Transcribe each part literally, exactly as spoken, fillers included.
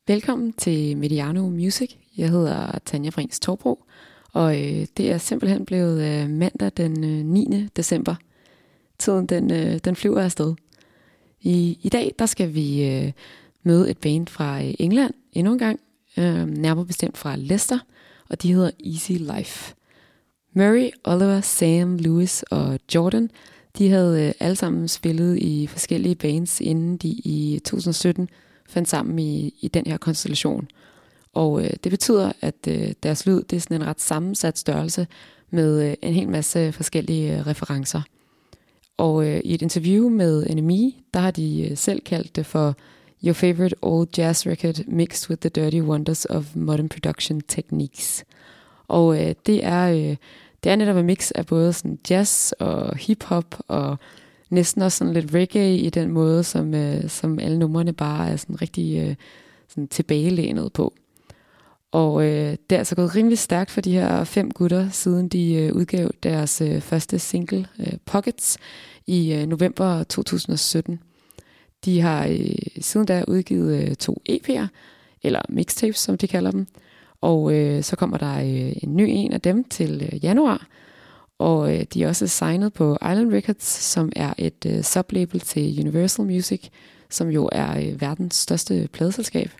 Velkommen til Mediano Music. Jeg hedder Tanja Brings Torbro, og øh, det er simpelthen blevet øh, mandag den øh, niende december. Tiden den, øh, den flyver afsted. I, I dag der skal vi øh, møde et band fra øh, England endnu en gang, øh, nærmere bestemt fra Leicester, og de hedder Easy Life. Murray, Oliver, Sam, Lewis og Jordan, de havde øh, alle sammen spillet i forskellige bands, inden de i to tusind sytten fandt sammen i, i den her konstellation. Og øh, det betyder, at øh, deres lyd det er sådan en ret sammensat størrelse med øh, en hel masse forskellige øh, referencer. Og øh, i et interview med N M E, der har de øh, selv kaldt det for Your favorite old jazz record mixed with the dirty wonders of modern production techniques. Og øh, det er øh, det er netop en mix af både sådan jazz og hip-hop og næsten også sådan lidt reggae i den måde, som, øh, som alle numrene bare er sådan rigtig øh, sådan tilbagelænet på. Og øh, det er altså gået rimelig stærkt for de her fem gutter, siden de øh, udgav deres øh, første single, øh, Pockets, i øh, november to tusind sytten. De har øh, siden da udgivet øh, to E P'er, eller mixtapes, som de kalder dem. Og øh, så kommer der øh, en ny en af dem til øh, januar. Og øh, de er også signet på Island Records, som er et øh, sublabel til Universal Music, som jo er øh, verdens største pladeselskab.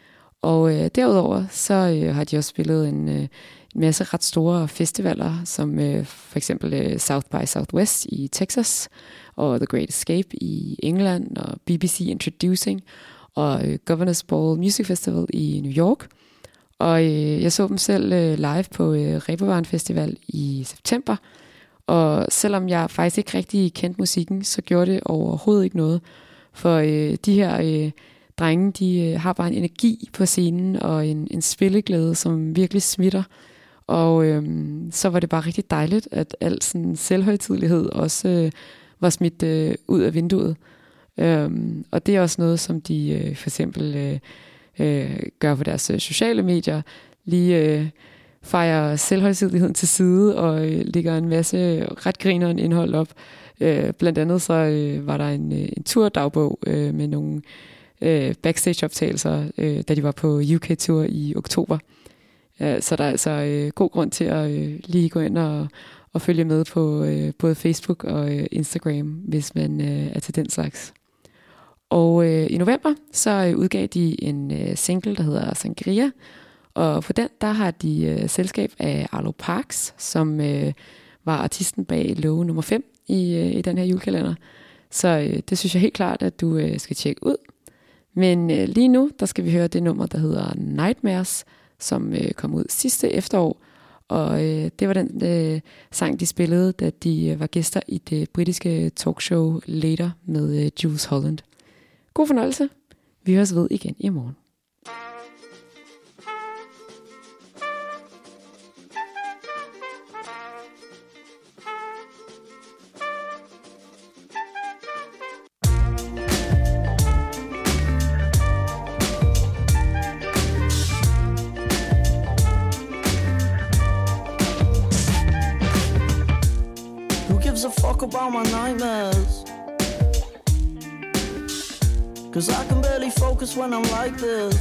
Og øh, derudover så øh, har de også spillet en, øh, en masse ret store festivaler, som øh, for eksempel øh, South by Southwest i Texas, og The Great Escape i England, og B B C Introducing, og øh, Governors Ball Music Festival i New York. Og øh, jeg så dem selv øh, live på øh, Reeperbahn Festival i september. Og selvom jeg faktisk ikke rigtig kendte musikken, så gjorde det overhovedet ikke noget. For øh, de her øh, drenge, de øh, har bare en energi på scenen og en, en spilleglæde, som virkelig smitter. Og øh, så var det bare rigtig dejligt, at al sådan selvhøjtidelighed også øh, var smidt øh, ud af vinduet. Øh, og det er også noget, som de øh, for eksempel øh, øh, gør på deres øh, sociale medier. Lige øh, fejrer selvhøjtideligheden til side og øh, lægger en masse ret grineren indhold op. Øh, blandt andet så øh, var der en, øh, en turdagbog øh, med nogle øh, backstage-optagelser, øh, da de var på U K-tur i oktober. Øh, så der er altså øh, god grund til at øh, lige gå ind og, og følge med på øh, både Facebook og øh, Instagram, hvis man øh, er til den slags. Og øh, i november så øh, udgav de en øh, single, der hedder Sangria, og på den der har de øh, selskab af Arlo Parks, som øh, var artisten bag låge nummer fem i, øh, i den her julekalender. Så øh, det synes jeg helt klart, at du øh, skal tjekke ud. Men øh, lige nu, der skal vi høre det nummer, der hedder Nightmares, som øh, kom ud sidste efterår. Og øh, det var den øh, sang, de spillede, da de øh, var gæster i det britiske talkshow Later med øh, Jules Holland. God fornøjelse. Vi høres ved igen i morgen. A fuck about my nightmares, 'cause I can barely focus when I'm like this.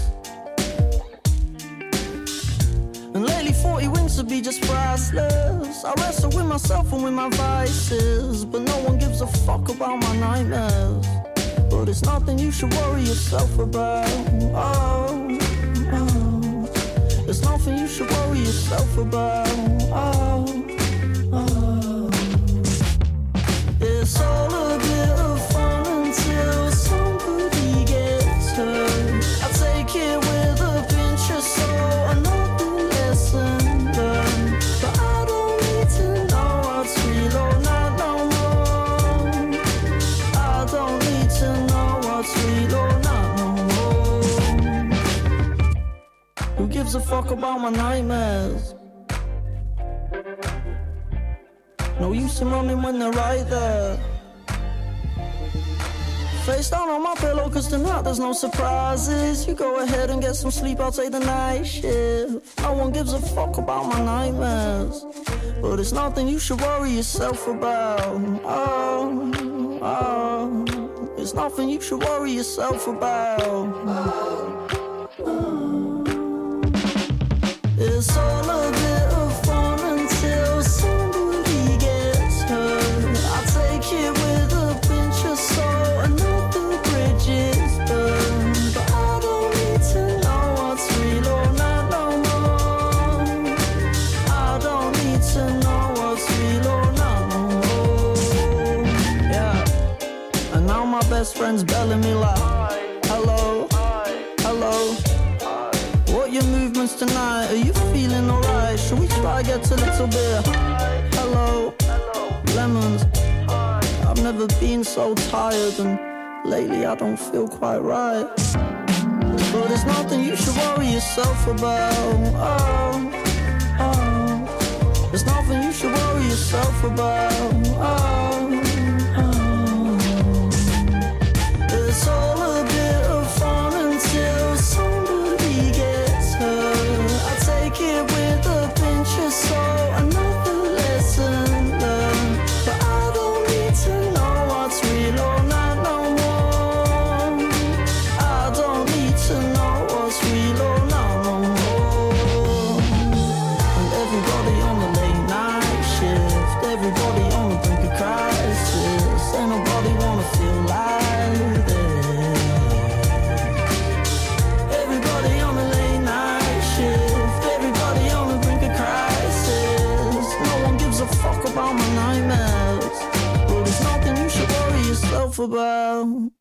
And lately forty wings to be just priceless. I wrestle with myself and with my vices, but no one gives a fuck about my nightmares. But it's nothing you should worry yourself about. Oh, oh. It's nothing you should worry yourself about. Oh, oh. It's all a bit of fun until somebody gets hurt. I take it with a pinch of salt, another lesson learned. But I don't need to know what's real or not no more. I don't need to know what's real or not no more. Who gives a fuck about my nightmares? No use in running when they're right there. Face down on my pillow, 'cause tonight there's no surprises. You go ahead and get some sleep, I'll take the night shift. No one gives a fuck about my nightmares, but it's nothing you should worry yourself about. Oh, oh. It's nothing you should worry yourself about. Oh, oh. It's all a bit of fun until somebody gets hurt. I take it with a pinch of salt and not the bridges burned. But I don't need to know what's real or not no more. I don't need to know what's real or not no more. Yeah. And now my best friend's belling me like, hello, hello. What your movements tonight? Are you feeling alright? Should we try get a little bit? Hello, lemons. I've never been so tired, and lately I don't feel quite right. But there's nothing you should worry yourself about. Oh, oh. There's nothing you should worry yourself about. Oh, oh. It's all a bit of fun until somebody gets hurt. I take it with a pinch of salt, another lesson learned. But I don't need to know what's real or not no more. I don't need to know what's real or not no more. And everybody on the late night shift, everybody on the brink of crisis. Ain't nobody wanna feel like this. Everybody on the late night shift, everybody on the brink of crisis. No one gives a fuck about my nightmares. But there's nothing you should worry yourself about.